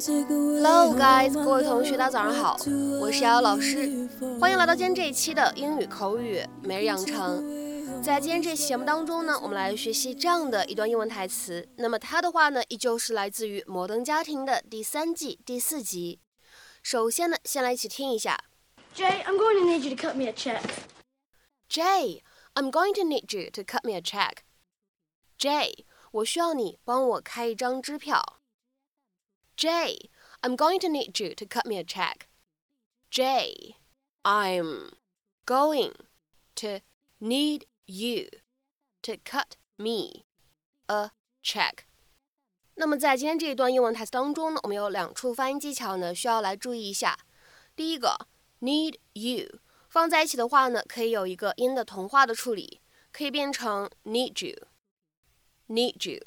Hello guys， 各位同学大家早上好，我是瑶瑶老师，欢迎来到今天这一期的英语口语每日养成。在今天这期节目当中呢，我们来学习这样的一段英文台词。那么它的话呢，依旧是来自于《摩登家庭》的第3季第4集。首先呢，先来一起听一下。 Jay, I'm going to need you to cut me a check. Jay, I'm going to need you to cut me a check. Jay, 我需要你帮我开一张支票。Jay, I'm going to need you to cut me a check. Jay, I'm going to need you to cut me a check. 那么在今天这一段英文台词当中呢，我们有2处发音技巧呢，需要来注意一下。第一个 need you 放在一起的话呢，可以有一个音的同化的处理，可以变成 need you, need you,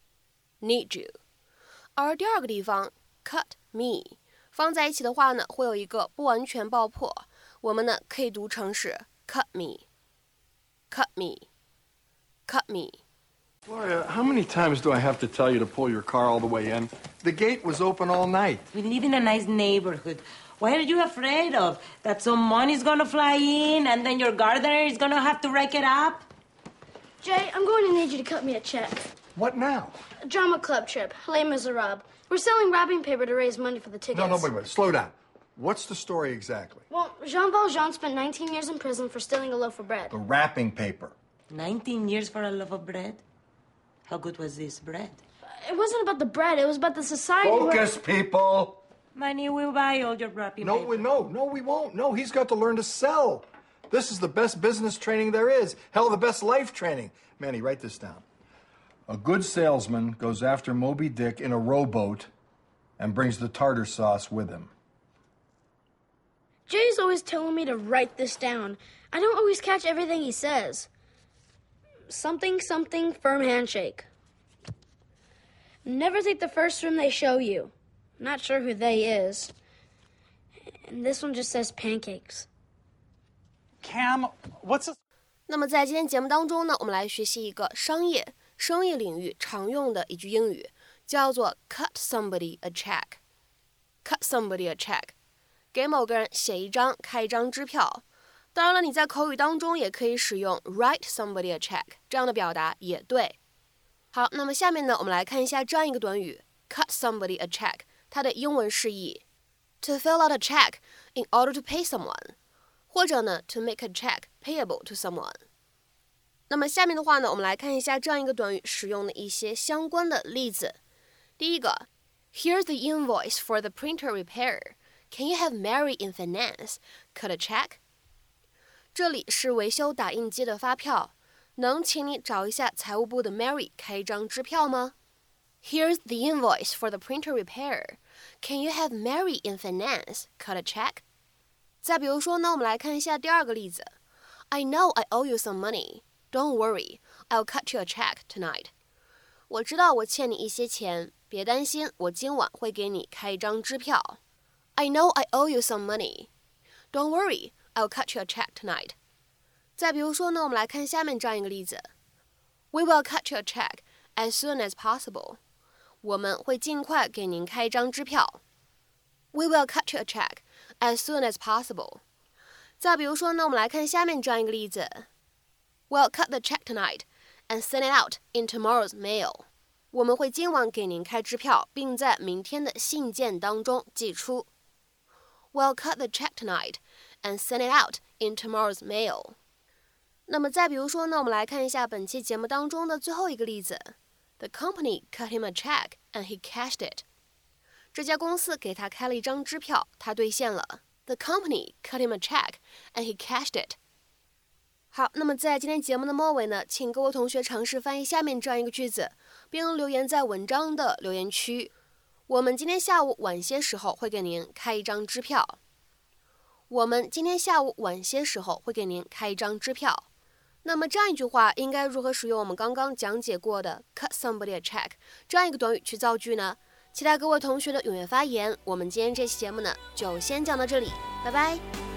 need you。而第二个地方 cut me 放在一起的话呢，会有一个不完全爆破，我们呢可以读成是 cut me, cut me, cut me。Gloria, how many times do I have to tell you to pull your car all the way in? The gate was open all night. We live in a nice neighborhood. What are you afraid of? That some money's gonna fly in and then your gardener is gonna have to rake it up? Jay, I'm going to need you to cut me a check. What now? A drama club trip, Les Miserables. We're selling wrapping paper to raise money for the tickets. No, wait. Slow down. What's the story exactly? Well, Jean Valjean spent 19 years in prison for stealing a loaf of bread. The wrapping paper. 19 years for a loaf of bread? How good was this bread? It wasn't about the bread, it was about the society. Focus, people! Money will buy all your wrapping No, paper. no, we won't. No, he's got to learn to sell. This is the best business training there is. Hell, the best life training. Manny, write this down. A good salesman goes after Moby Dick in a rowboat and brings the tartar sauce with him. Jay's always telling me to write this down. I don't always catch everything he says. Something, firm handshake. Never take the first room they show you. Not sure who they is. And this one just says pancakes. Cam, what's this? 那么在今天节目当中呢，我们来学习一个生意领域常用的一句英语，叫做 cut somebody a check. Cut somebody a check. 给某个人写一张开一张支票。当然了，你在口语当中也可以使用 write somebody a check 这样的表达也对。好，那么下面呢，我们来看一下这样一个短语 cut somebody a check， 它的英文释义 to fill out a check in order to pay someone， 或者呢 to make a check payable to someone。那么下面的话呢，我们来看一下这样一个短语使用的一些相关的例子。第一个 Here's the invoice for the printer repair. Can you have Mary in finance cut a check? 这里是维修打印机的发票，能请你找一下财务部的 Mary 开一张支票吗？ Here's the invoice for the printer repair. Can you have Mary in finance cut a check? 再比如说呢，我们来看一下第二个例子。I know I owe you some money. Don't worry, I'll cut you a check tonight. 我知道我欠你一些钱，别担心，我今晚会给你开一张支票。I know I owe you some money. Don't worry, I'll cut you a check tonight. 再比如说呢，我们来看下面这样一个例子。We will cut you a check as soon as possible. 我们会尽快给您开一张支票。We will cut you a check as soon as possible. 再比如说呢，我们来看下面这样一个例子。We'll cut the check tonight and send it out in tomorrow's mail. 我们会今晚给您开支票，并在明天的信件当中寄出。We'll cut the check tonight and send it out in tomorrow's mail. 那么再比如说呢，我们来看一下本期节目当中的最后一个例子。The company cut him a check and he cashed it. 这家公司给他开了一张支票，他兑现了。The company cut him a check and he cashed it. 好，那么在今天节目的末尾呢，请各位同学尝试翻译下面这样一个句子，并留言在文章的留言区。我们今天下午晚些时候会给您开一张支票。我们今天下午晚些时候会给您开一张支票。那么这样一句话应该如何使用我们刚刚讲解过的 cut somebody a check 这样一个短语去造句呢？期待各位同学的踊跃发言。我们今天这期节目呢，就先讲到这里，拜拜。